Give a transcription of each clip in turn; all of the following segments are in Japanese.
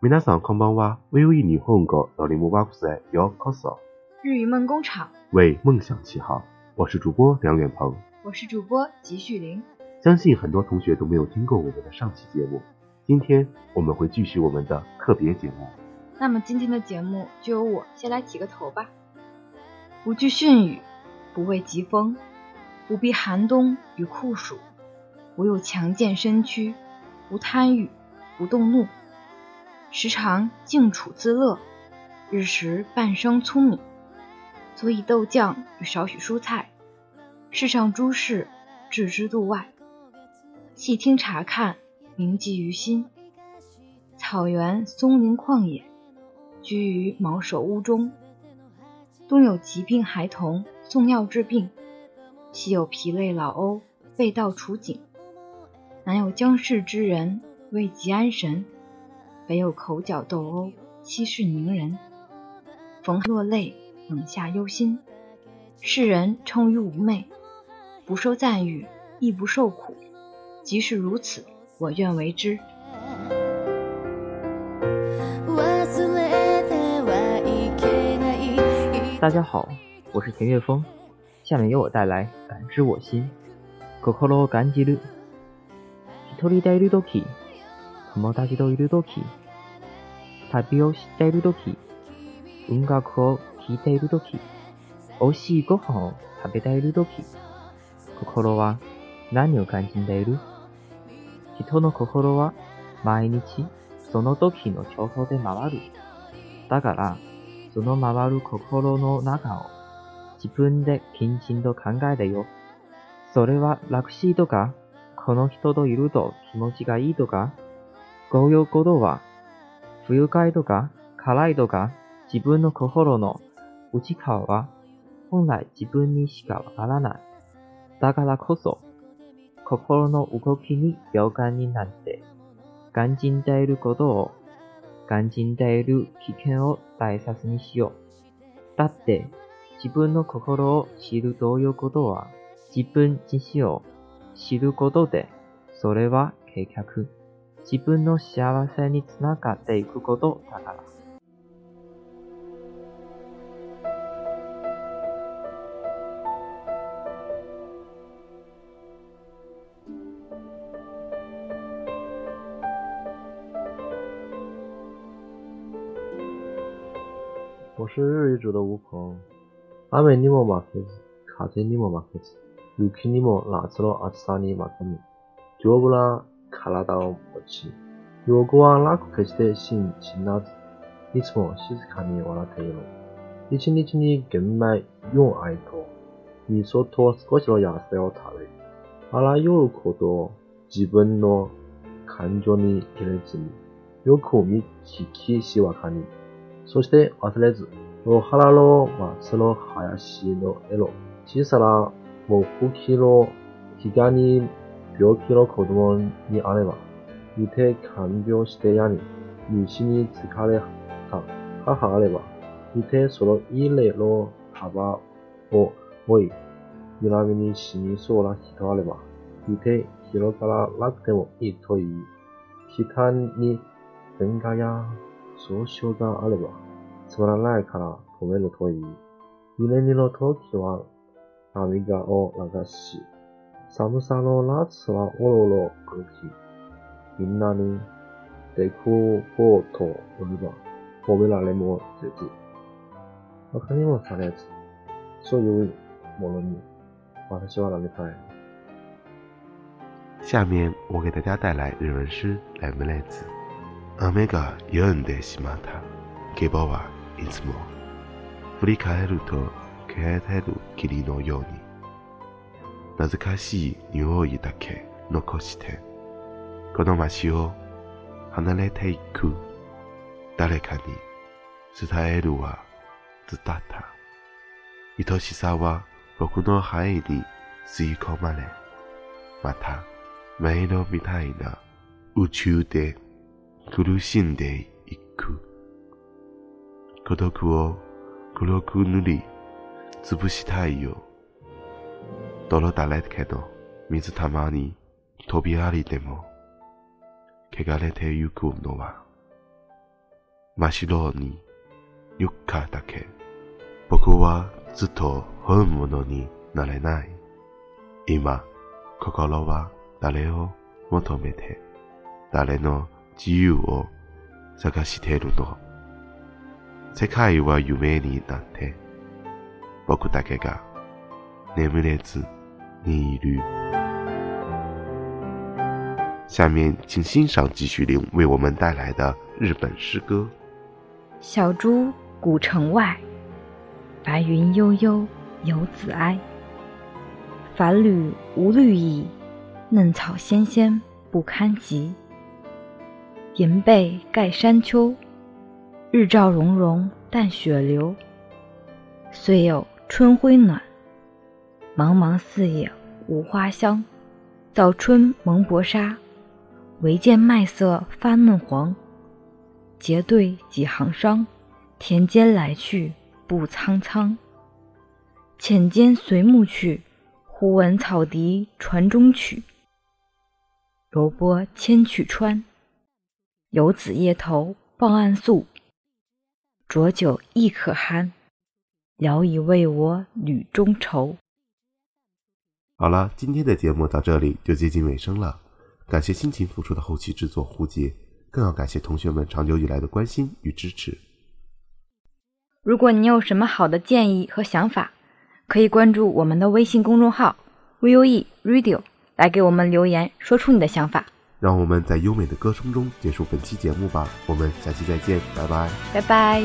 皆さんこんばんは。VOE 日本語のリモワク塞ようこそ。 日语梦工厂， 为梦想起航。我是主播梁远鹏， 我是主播吉旭林。 相信很多同学都没有听过我们的上期节目，今天我们会继续我们的特别节目。 那么今天的节目就由我先来起个头吧。不惧汛雨，不畏疾风，不避寒冬与酷暑，不有强健身躯，不贪欲，不动怒，时常静处自乐，日食半生聪明，佐以豆酱与少许蔬菜，世上诸事置之度外，细听察看，铭记于心。草原松林旷野，居于茅舍屋中，东有疾病孩童送药治病，西有疲累老欧背道处景，南有将世之人为疾安神，北有口角斗殴息事宁人。逢落泪，冷下忧心，世人称于妩媚，不受赞誉，亦不受苦，即是如此，我愿为之。 大家好，我是田岳峰，下面由我带来感知我心。心を感じる。一人でいるとき、友達といるとき、旅をしているとき、音楽を聴いているとき、美味しいご飯を食べているとき、心は何を感じている？人の心は毎日その時の調子で回る。だから、その回る心の中を自分できちんと考えてよ。それは楽しいとか、この人といると気持ちがいいとか、こういうことは不愉快とか辛いとか、自分の心の内側は本来自分にしかわからない。だからこそ、心の動きに敏感になって、感じていることを、感じている危険を大切にしよう。だって、自分の心を知るということは、自分自身を知ることで、それは結局、自分の幸せにつながっていくことだから。 我是日语组的吴鹏。雨にも負けず、風にも負けず、雪にも夏の暑さに負けぬ、丈夫な体を持ち、陽子はなく決して死なず、いつも静かに笑っている。一日に玄米4愛と、味噌と少しの野菜を食べ、あらゆることを自分の感情に入れずに、よく聞きしわかに、そして忘れず、野原の松の林の絵の小さな木器の膝に病気の子供にあれば、見て看病してやり、西に疲れた母あれば、見てその家の幅を追い、恨みに死にそうな人あれば、見て広がらなくてもいいと言い、北に喧嘩や訴訟があれば、つまらないから止めるといい。夢見の時は涙を流し、寒さの夏はおろおろ歩き、みんなに出くこうと乗れば、褒められもせず、馬鹿にもされず、そういうものに私はなりたい。 下面我给大家带来日文诗レムレーズ。雨が止んでしまった。希望はいつも振り返ると消えてる霧のように、懐かしい匂いだけ残してこの街を離れていく。誰かに伝えるは伝った。愛しさは僕の肺に吸い込まれ、また迷路みたいな宇宙で苦しんでいく。孤独を黒く塗りつぶしたいよ。泥だらけの水たまに飛び降りても汚れてゆくのは真っ白にゆかだけ。僕はずっと本物になれない。今、心は誰を求めて、誰の自由を探しているの。世界は夢になって、僕だけが眠れず你旅。下面请欣赏季绪凌为我们带来的日本诗歌。 小猪古城外，白云悠悠游子哀。繁缕无绿意，嫩草纤纤不堪及。银被盖山丘，日照融融淡雪流。虽有春晖暖，茫茫四野无花香。早春蒙薄纱，唯见麦色发嫩黄。结对几行商，田间来去不苍苍。浅间随暮去，忽闻草笛船中曲。柔波千曲川，游子夜头抱岸宿。浊酒亦可酣，聊以慰我旅中愁。 好了，今天的节目到这里就接近尾声了，感谢辛勤付出的后期制作胡杰，更要感谢同学们长久以来的关心与支持。 如果你有什么好的建议和想法，可以关注我们的微信公众号 VOE Radio 来给我们留言，说出你的想法。 让我们在优美的歌声中结束本期节目吧，我们下期再见，拜拜。 拜拜。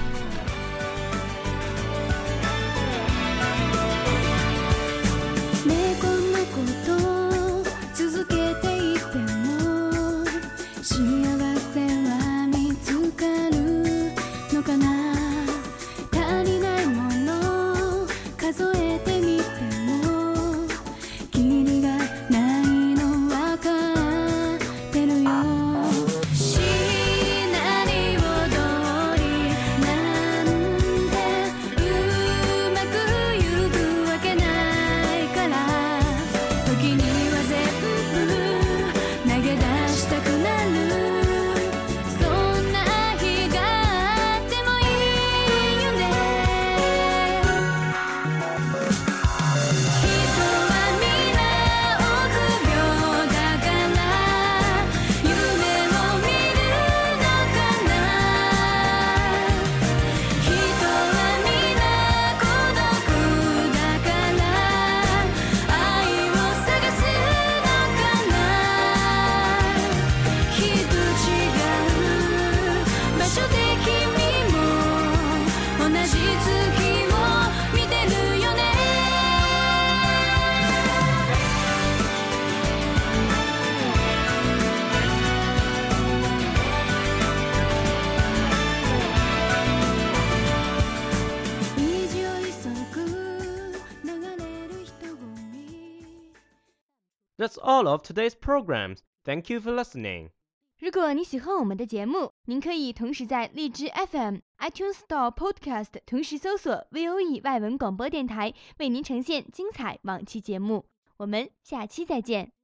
That's all of today's programs. Thank you for listening. 如果你喜欢我们的节目，您可以同时在荔枝 FM、iTunes Store Podcast 同时搜索 VOE 外文广播电台，为您呈现精彩往期节目。我们下期再见。